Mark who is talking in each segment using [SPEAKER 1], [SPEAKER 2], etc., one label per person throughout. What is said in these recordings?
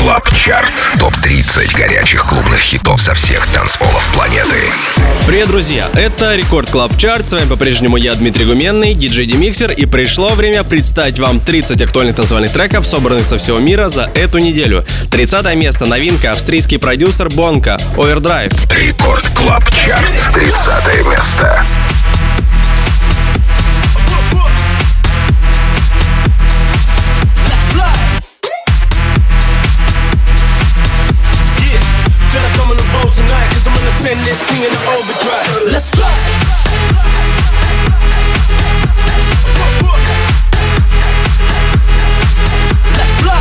[SPEAKER 1] Клаб Чарт. Топ-30 горячих клубных хитов со всех танцполов планеты.
[SPEAKER 2] Привет, друзья! Это Рекорд Клаб Чарт. С вами по-прежнему я, Дмитрий Гуменный, диджей Демиксер. И пришло время представить вам 30 актуальных танцевальных треков, собранных со всего мира за эту неделю. 30 место. Новинка. Австрийский продюсер Бонка. Overdrive.
[SPEAKER 1] Рекорд Клаб Чарт. 30 место.
[SPEAKER 3] Send this thing in overdrive. Let's fly. Let's fly.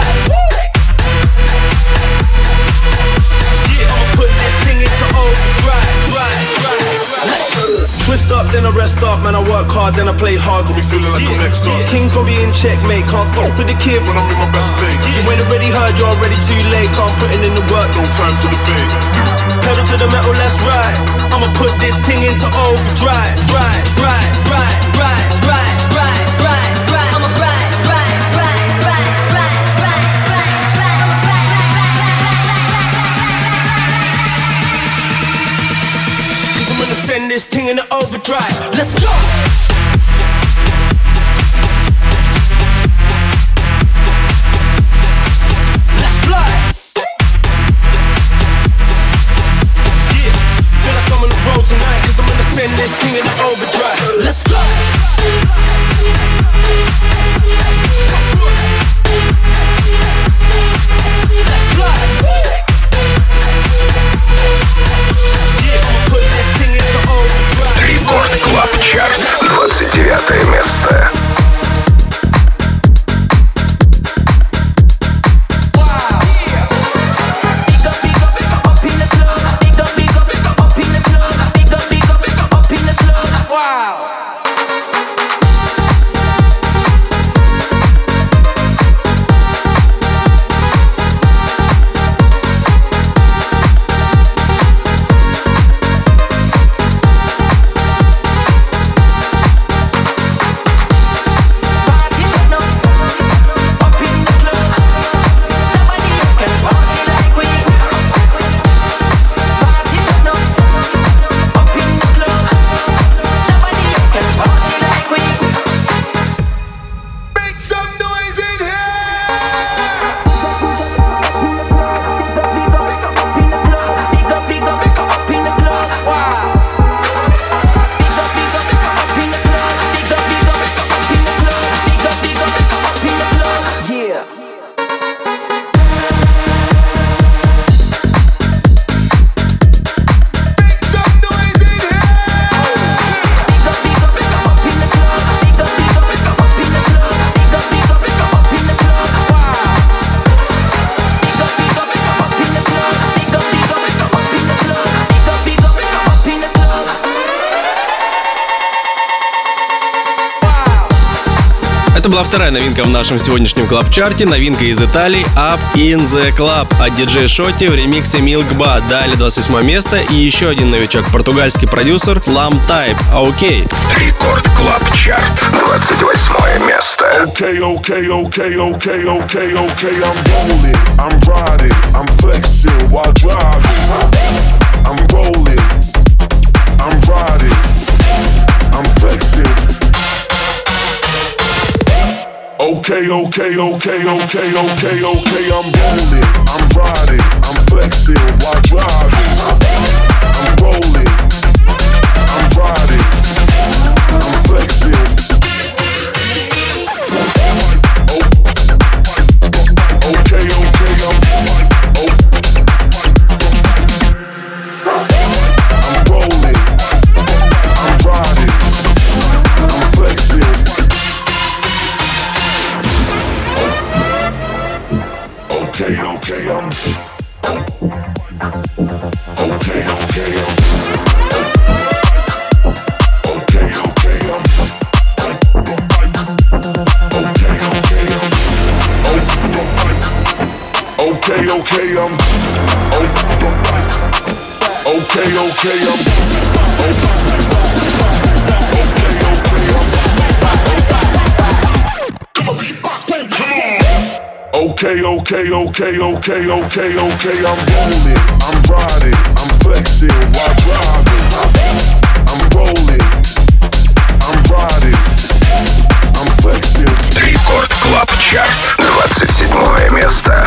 [SPEAKER 3] Yeah, I'ma put this thing into overdrive. Let's go. Twist up, then I rest up. Man, I work hard, then I play hard. Got me feeling like I'm next up. King's gonna be in checkmate. Can't fuck with the kid when I'm in my best state. You ain't already heard, you're already too late. Can't putting in the work, no time to debate. Pedal to the metal, let's ride. I'ma put this thing into overdrive. Ride. I'ma Cause I'm gonna send this thing into overdrive. Let's go. Tonight, cause I'm gonna send this thing in overdrive. Let's go. Let's fly. Yeah, I'ma put this thing into overdrive.
[SPEAKER 1] Рекорд Клаб Чарт. 29 место.
[SPEAKER 2] Это была вторая новинка в нашем сегодняшнем клаб-чарте. Новинка из Италии Up in the Club от диджея Шотти в ремиксе Milkba. Далее 28 место и еще один новичок, португальский продюсер Slam Type. Окей.
[SPEAKER 1] Рекорд Клаб Чарт. 28 место.
[SPEAKER 4] Okay, I'm rolling, I'm riding, I'm flexing while driving. I'm rolling, I'm riding, I'm flexing. Okay, I'm rolling, I'm riding, I'm flexing while driving. I'm rolling, I'm riding, I'm flexing. Okay, I'm rolling, I'm riding, I'm flexing. Okay, I'm okay, I'm Okay, okay, okay, okay, okay, okay. I'm rolling, I'm riding, I'm flexing while driving. I'm rolling, I'm riding, I'm flexing.
[SPEAKER 1] Рекорд Клаб Чарт, 27 место.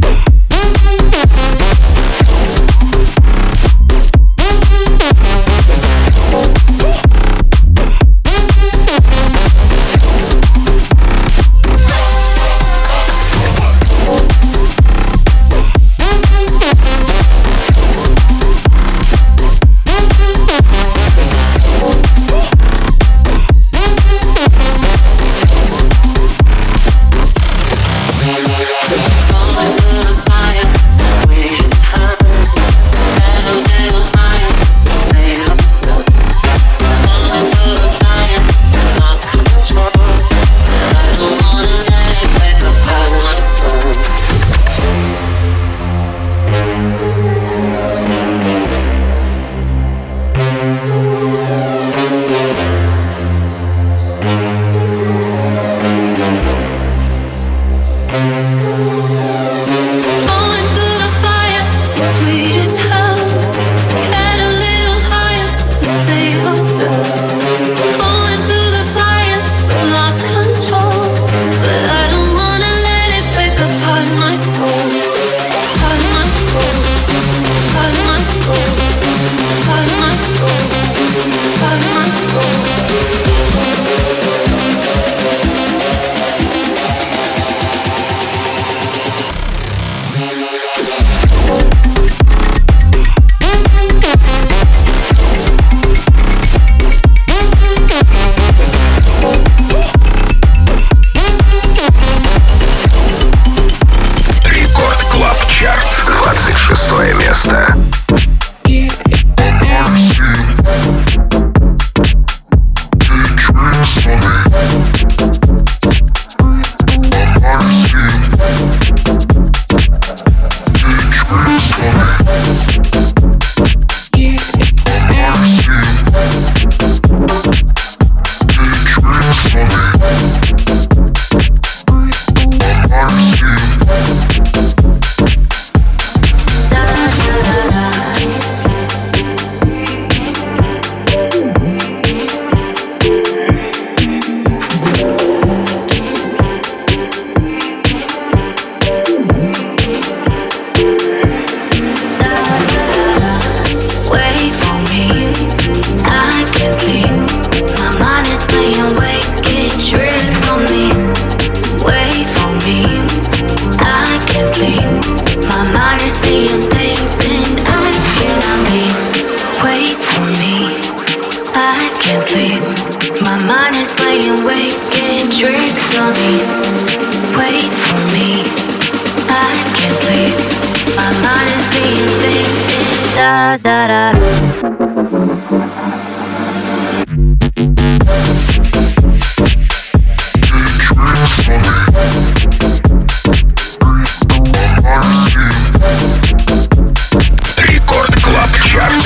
[SPEAKER 1] Рекорд Клаб Чарт,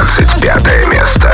[SPEAKER 1] 25 место.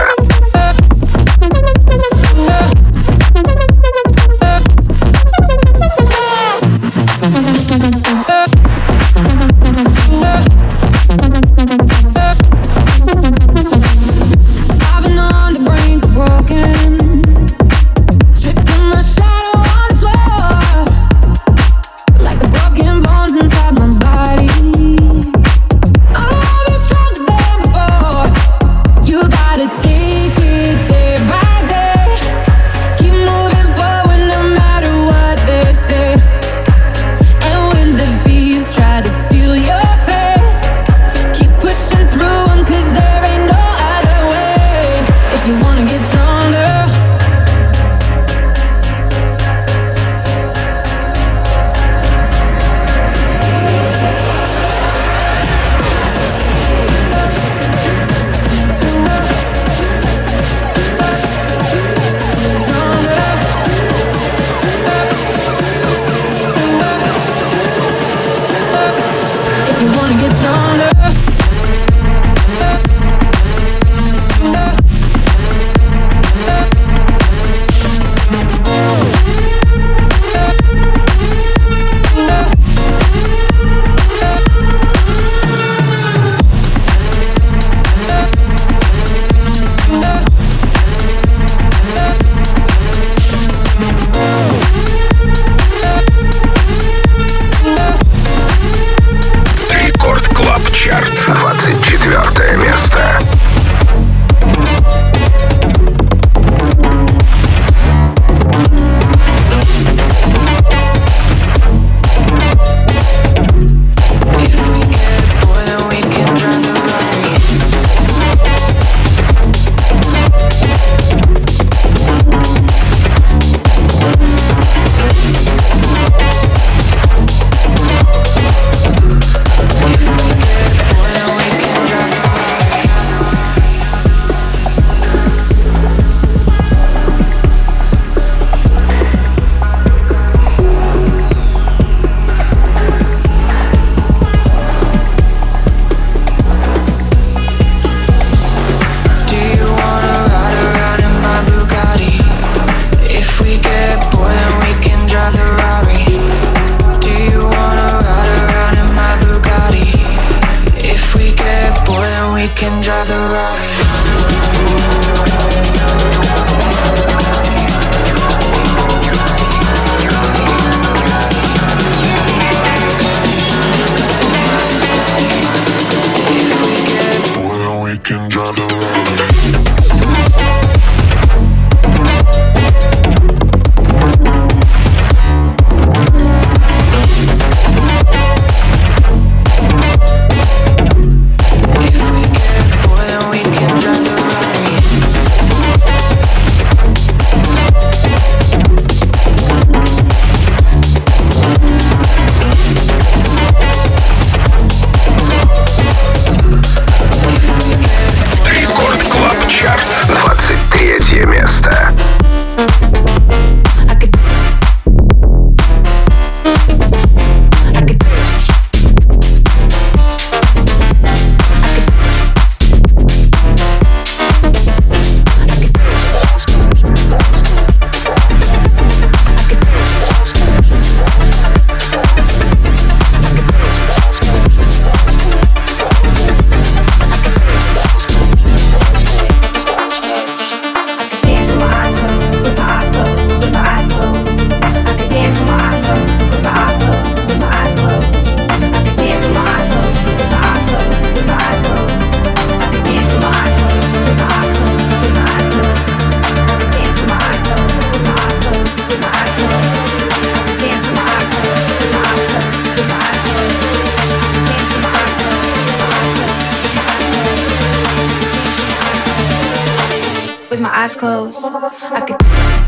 [SPEAKER 5] with my eyes closed. I could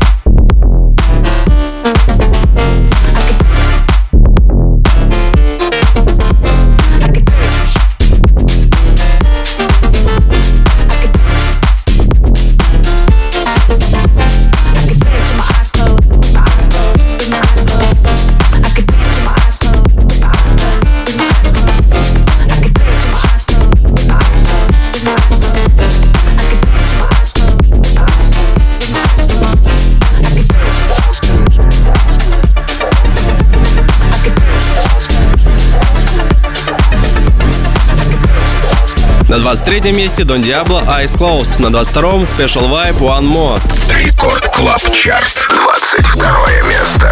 [SPEAKER 2] На 23-м месте Дон Диабло Eyes Closed. На 22-м Special Vibe One More.
[SPEAKER 1] Рекорд Клаб Чарт. 22 место.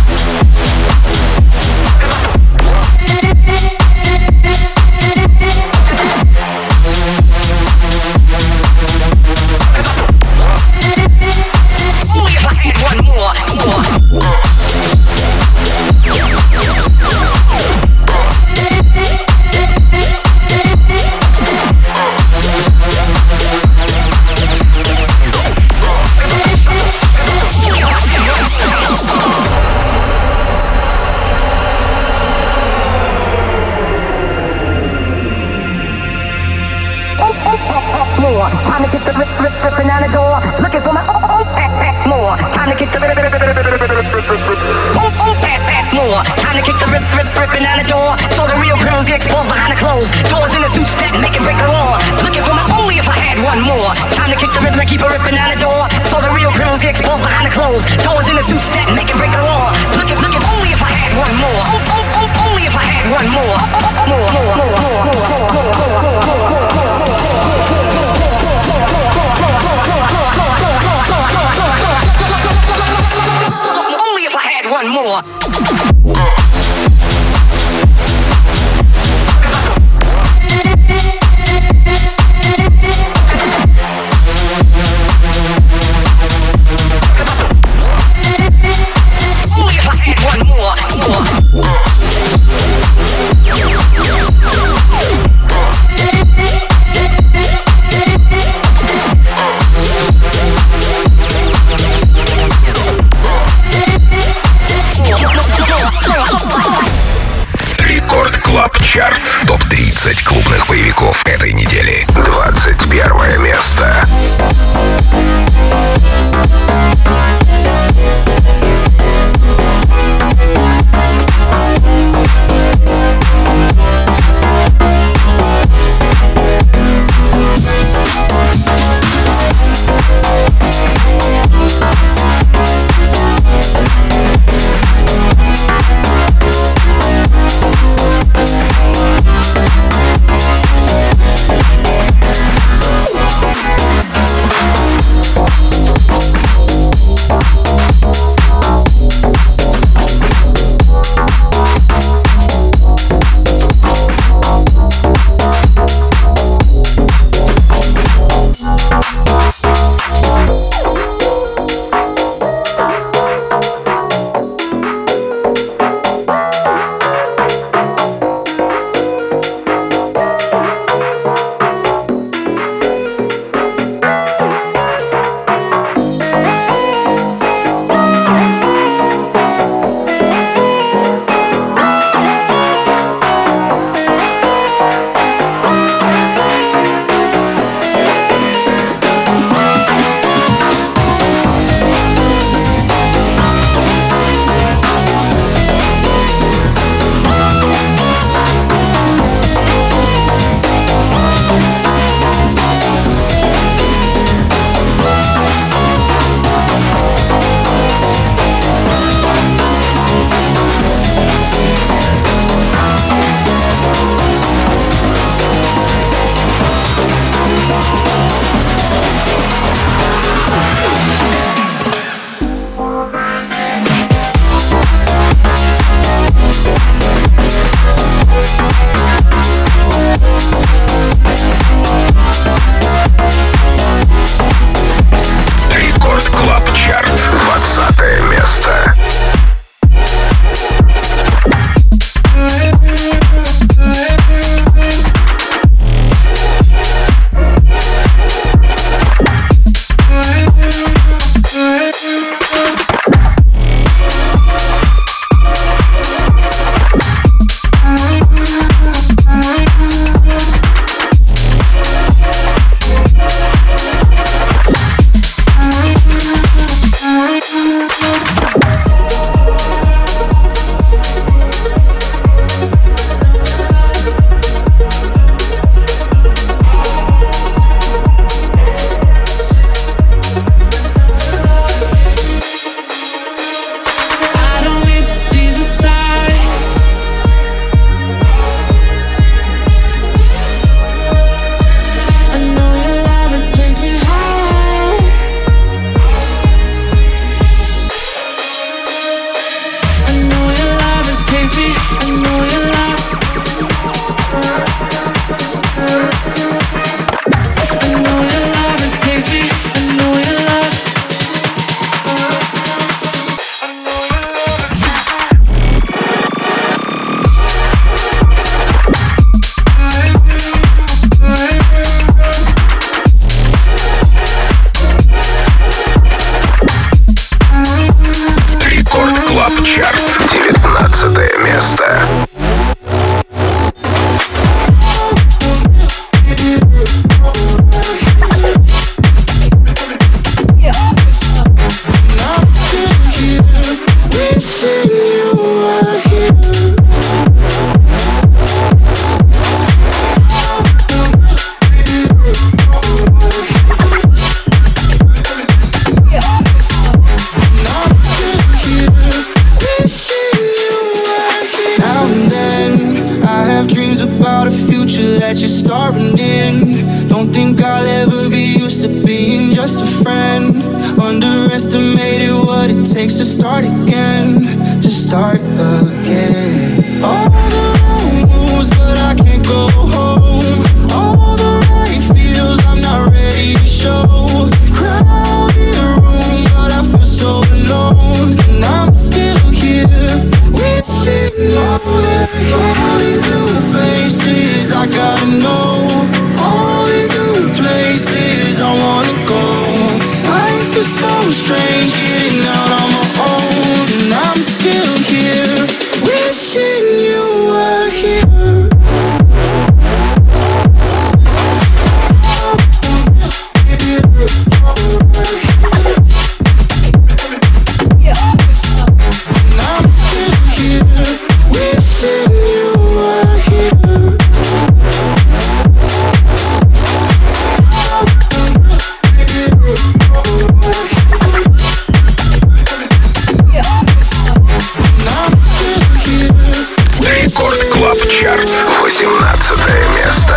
[SPEAKER 6] Time to get the ripping out the door. Looking for my more. Time to get the more. Time to kick the ripping out the door. So the real criminals get exposed behind the clothes. Doors in the suit step, make it break the law. Looking for my only if I had one more. Time to kick the rhythm and keep it ripping out the door. So the real criminals get exposed behind the clothes. Doors in the suit step, make it break the law. Looking only if I had one more. Only if I had one more. Only if I had one more.
[SPEAKER 1] Чарт. Топ-30 клубных боевиков этой недели. 21 место.
[SPEAKER 7] about a future that you're starring in. Don't think I'll ever be used to being just a friend. Underestimated what it takes to start again. To start again. All the wrong moves, but I can't go home. All the right feels, I'm not ready to show. Crowded room, but I feel so alone. And I'm still here, wishing all these new faces I gotta know. All these new places I wanna go. Life is so strange, getting out on my own. And I'm still here, wishing you were here. And I'm still here, wishing you were here.
[SPEAKER 1] Рекорд Клаб Чарт, 18 место.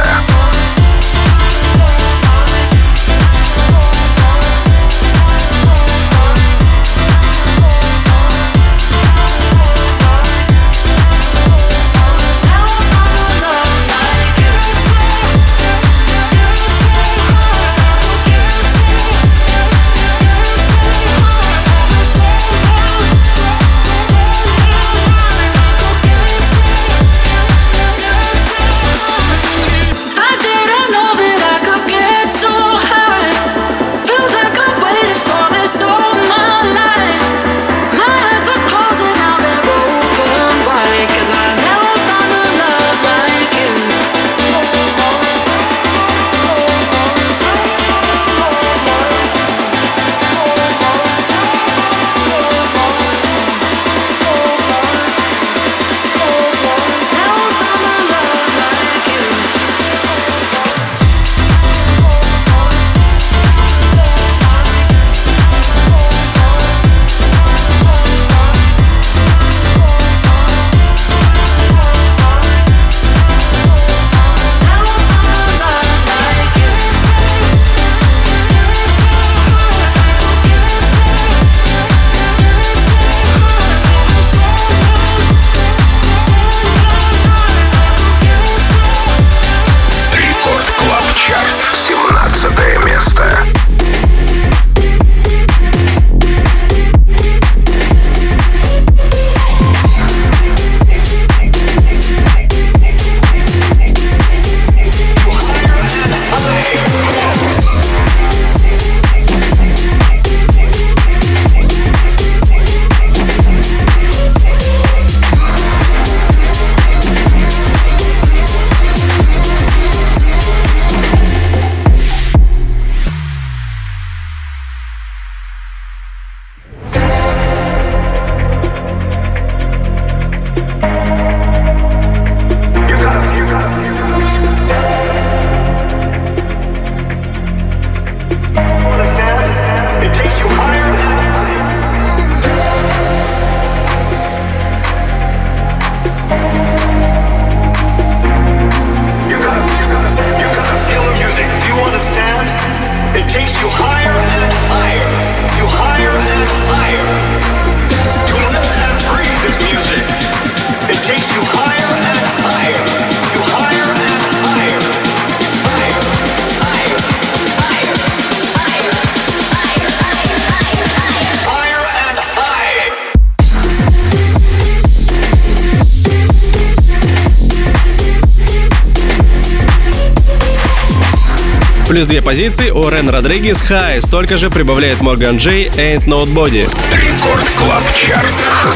[SPEAKER 2] Плюс 2 позиции у Рен Родригес High. Столько же прибавляет Морган Джей Ain't Nobody.
[SPEAKER 1] Рекорд Клаб Чарт,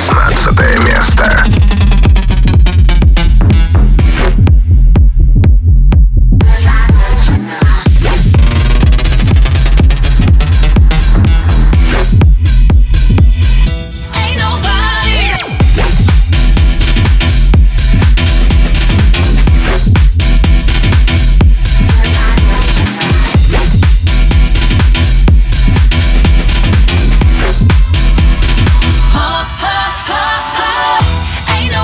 [SPEAKER 1] 16 место.
[SPEAKER 8] Ain't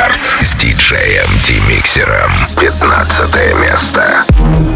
[SPEAKER 1] Чарт с диджеем Демиксером. 15 место.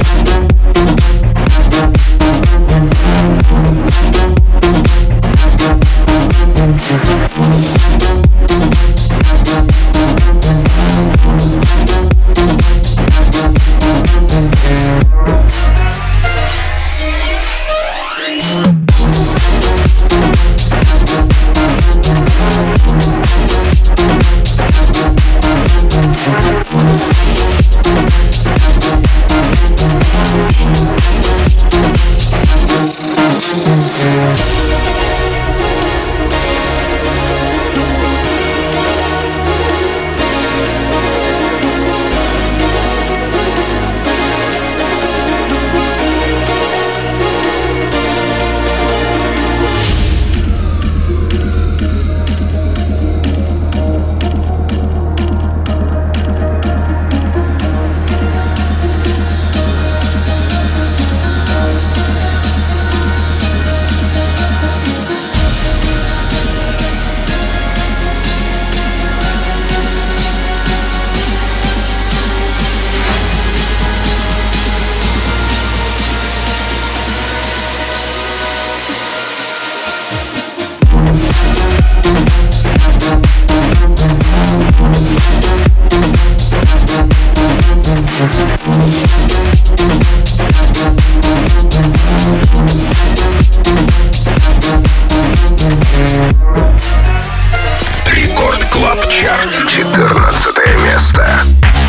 [SPEAKER 1] Рекорд Клаб Чарт. 14 место.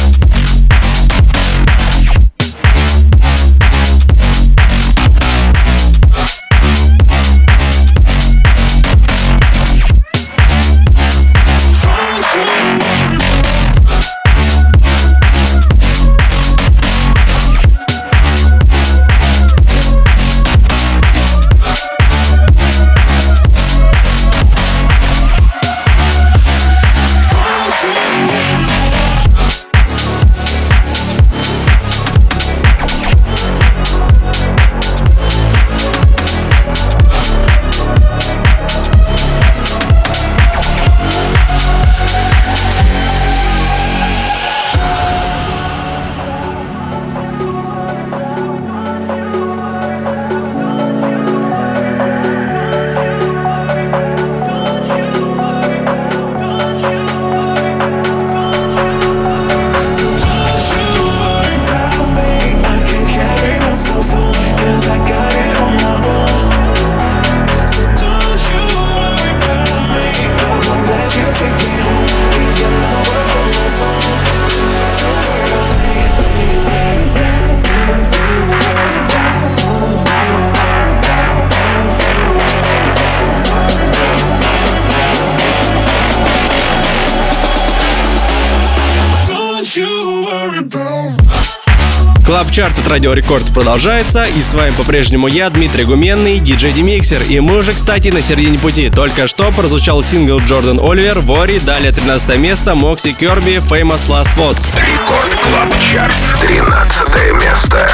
[SPEAKER 2] Клаб Чарт от Радио Рекорд продолжается, и с вами по-прежнему я, Дмитрий Гуменный, диджей Демиксер. И мы уже, кстати, на середине пути. Только что прозвучал сингл Джордан Оливер, Вори, далее 13 место, Мокси Керби, Famous Last Words.
[SPEAKER 1] Рекорд Клаб Чарт. 13 место.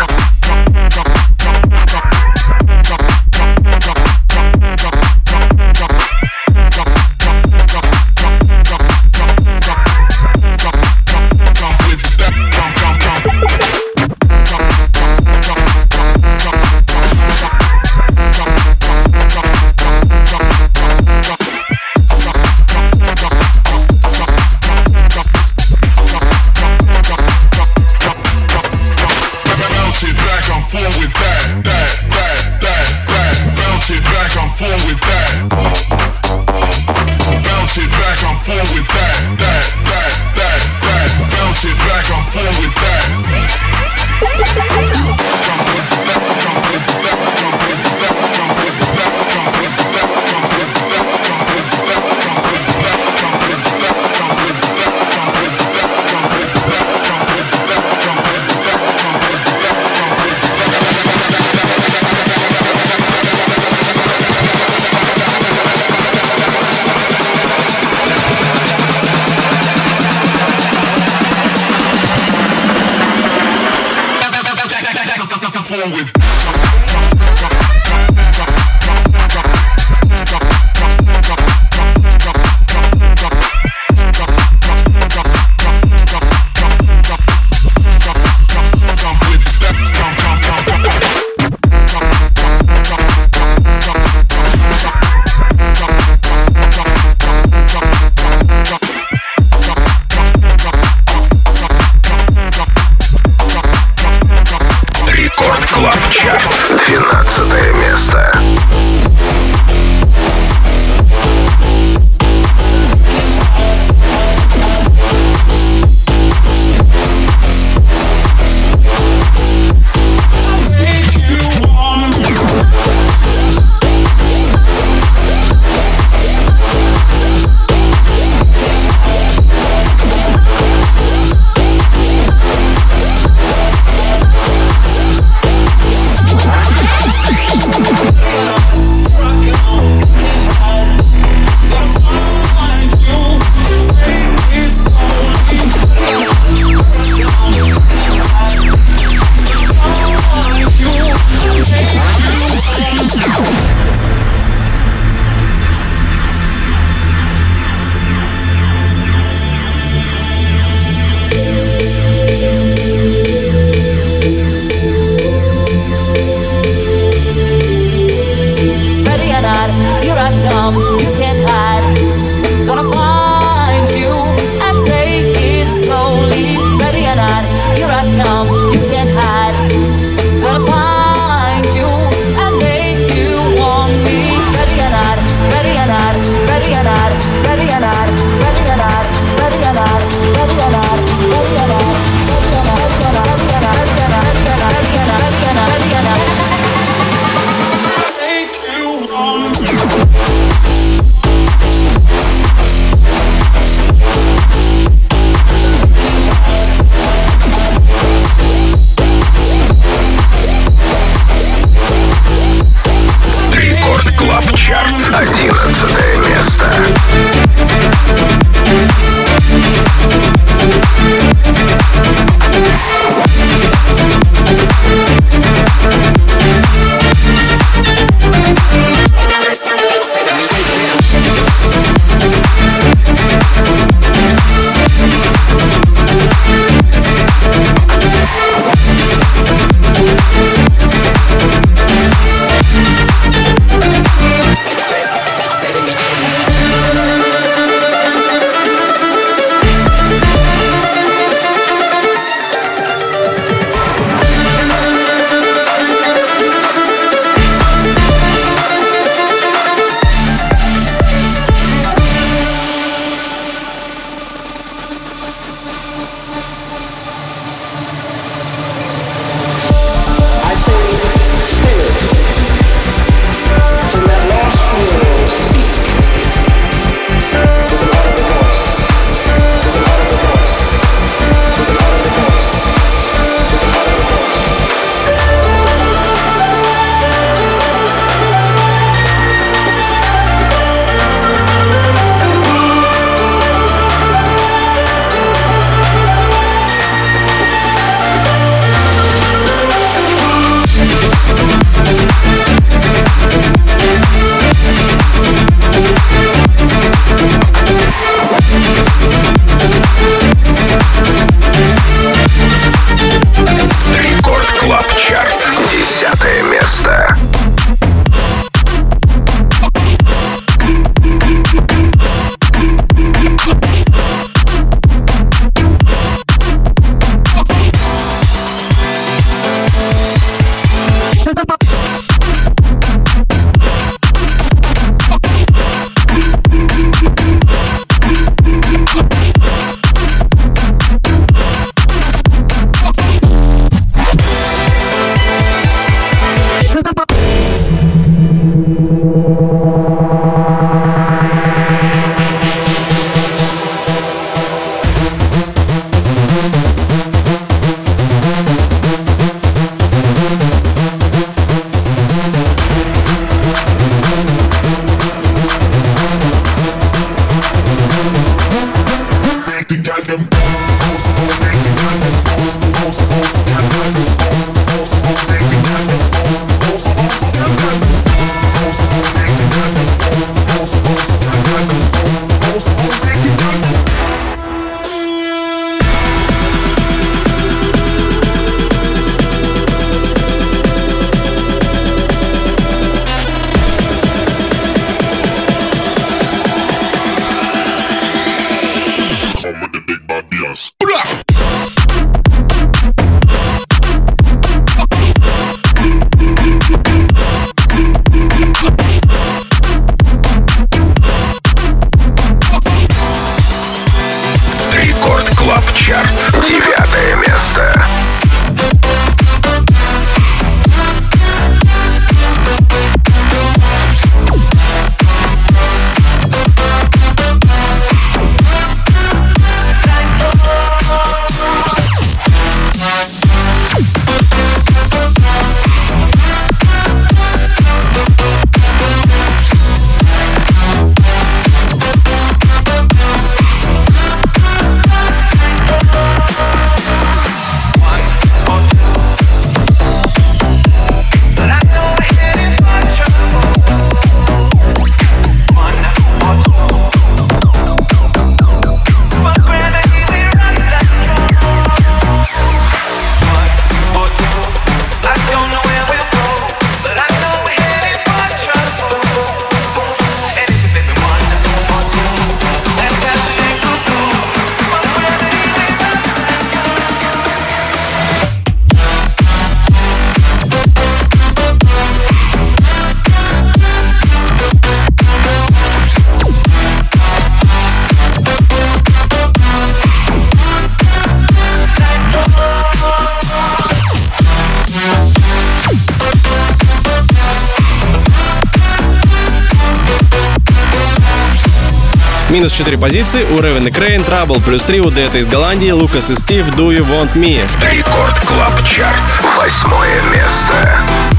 [SPEAKER 2] Минус 4 позиции у Raven и Crane, Trouble +3 у Detta из Голландии, Лукас и Стив, Do You Want Me.
[SPEAKER 1] Рекорд Клаб Чарт, 8-е место.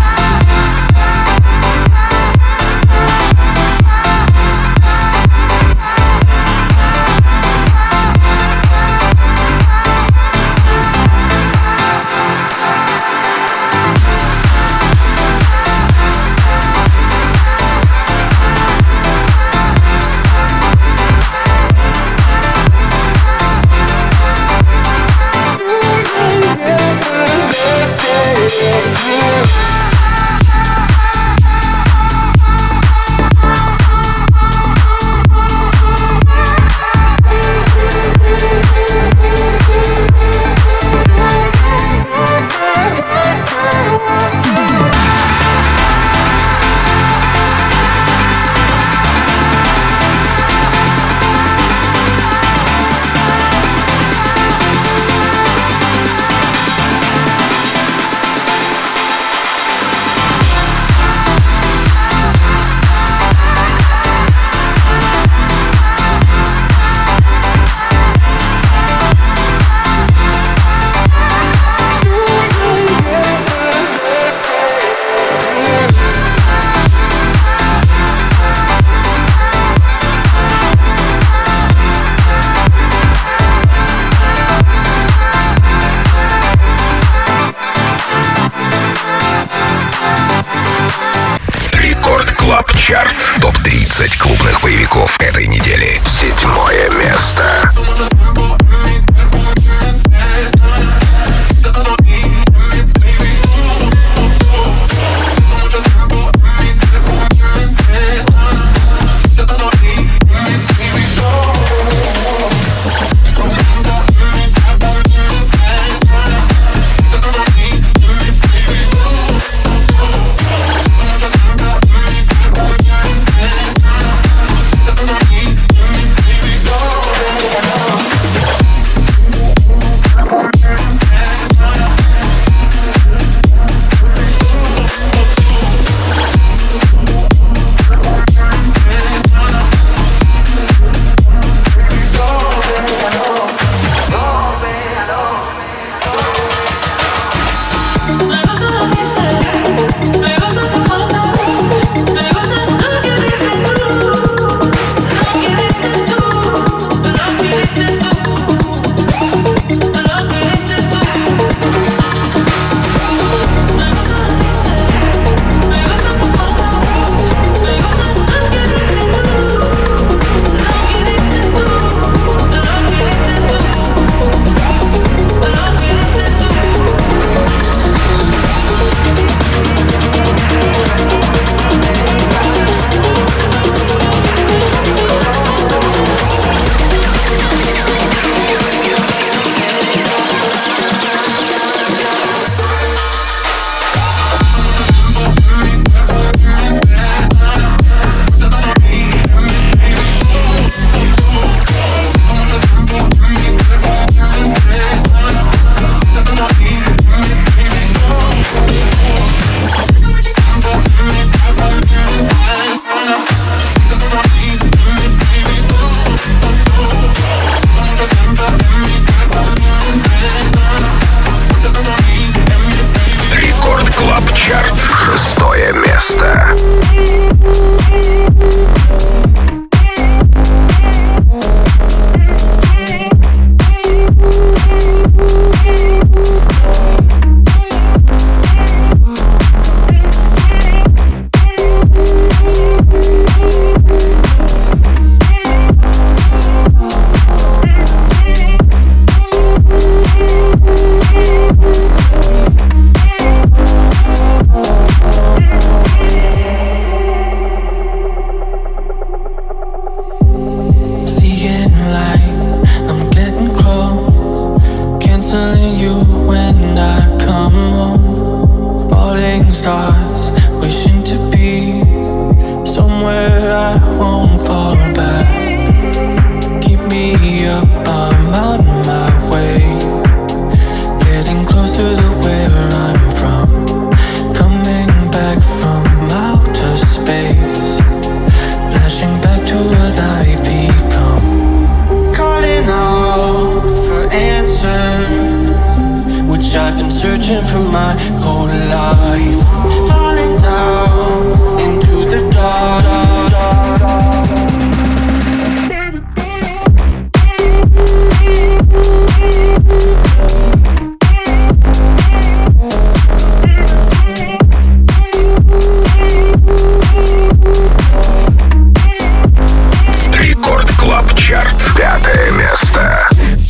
[SPEAKER 1] Чарт. Топ-30 клубных боевиков этой недели. 7-е место. место.
[SPEAKER 7] Searching for my whole life, falling down into the dark.
[SPEAKER 1] Рекорд Клаб Чарт, 5 место.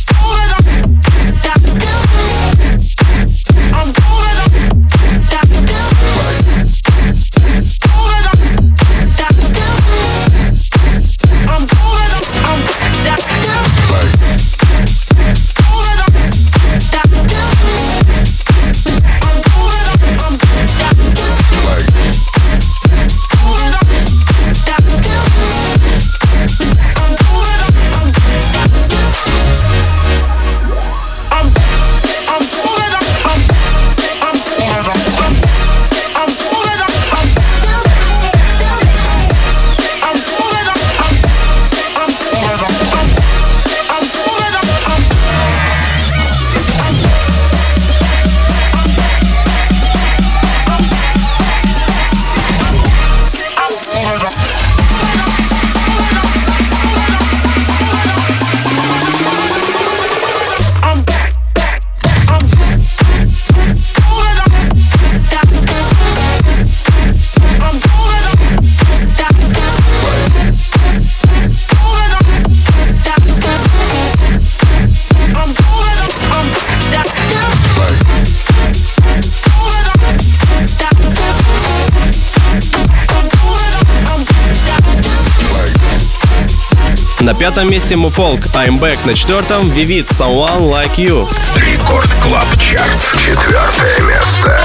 [SPEAKER 2] На 5 месте Mufolk, I'm Back. На 4-м Vivid, Someone Like You.
[SPEAKER 1] Рекорд Клаб Чарт, 4 место.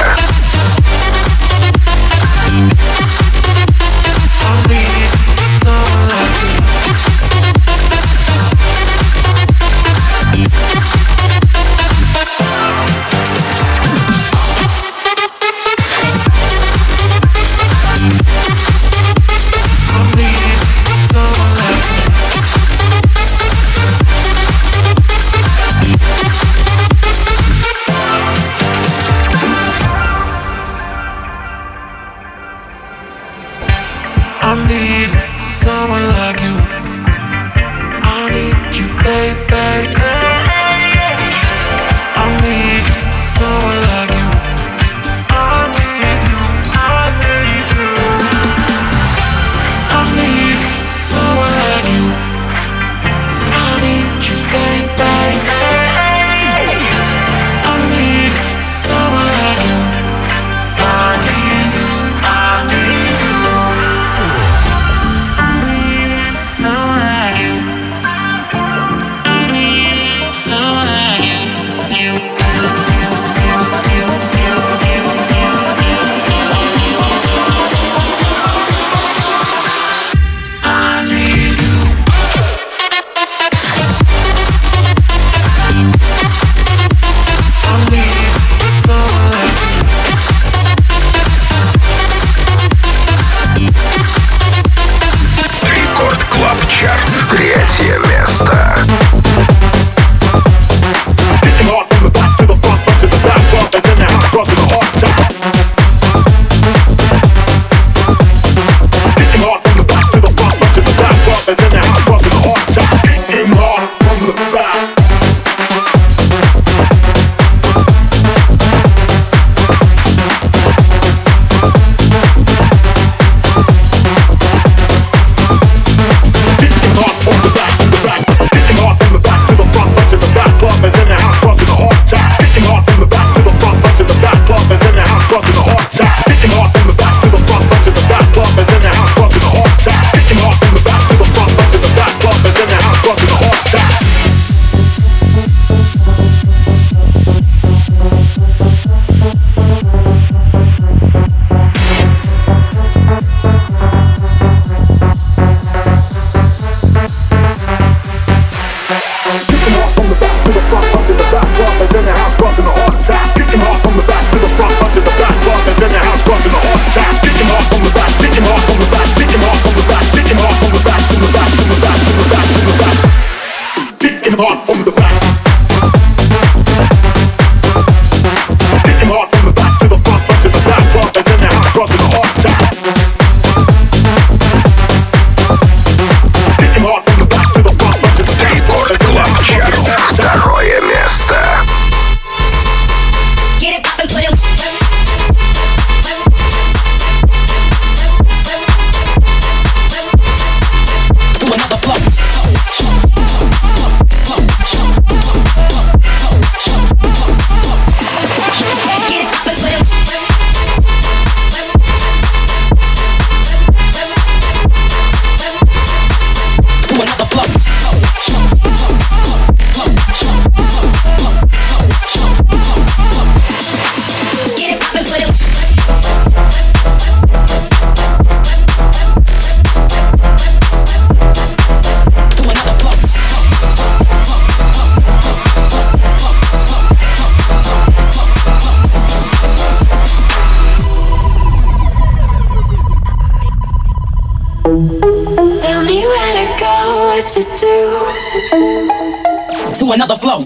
[SPEAKER 5] to do.
[SPEAKER 6] To another flow.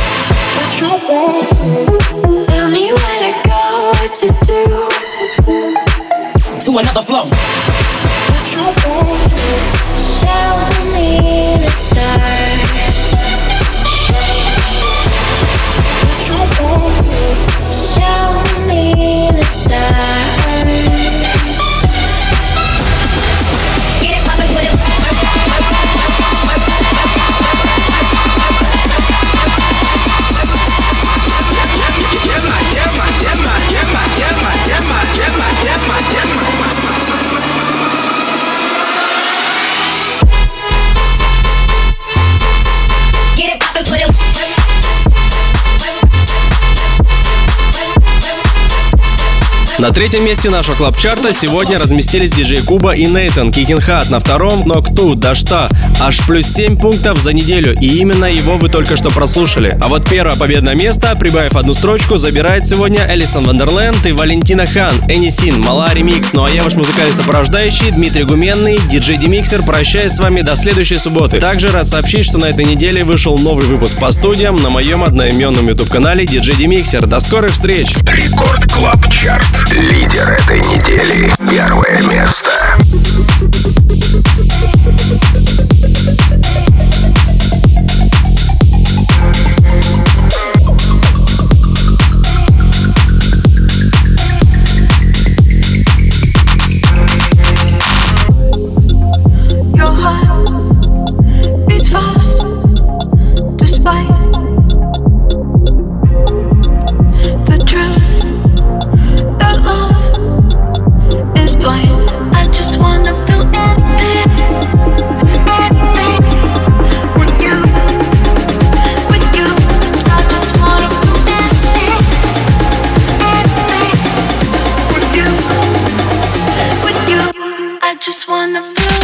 [SPEAKER 5] Tell me where to go, what to do.
[SPEAKER 6] To another flow.
[SPEAKER 5] Show me the stars. Show me the stars.
[SPEAKER 6] Get it poppin', put it.
[SPEAKER 2] На третьем месте нашего клаб-чарта сегодня разместились диджей Куба и Нейтан. Kicking Hard на втором, Knock 2, да что, аж плюс 7 пунктов за неделю, и именно его вы только что прослушали. А вот первое победное место, прибавив одну строчку, забирает сегодня Элисон Вандерленд и Валентина Хан, Энисин, Мала ремикс. Ну а я ваш музыкальный сопровождающий Дмитрий Гуменный, диджей Демиксер, прощаюсь с вами до следующей субботы. Также рад сообщить, что на этой неделе вышел новый выпуск по студиям на моем одноименном YouTube-канале диджей Демиксер. До скорых встреч!
[SPEAKER 1] Рекорд Клаб Чарт. Лидер этой недели. Первое место.
[SPEAKER 5] I just wanna feel anything, anything with you, with you. I just wanna feel anything, anything with you, with you. I just wanna feel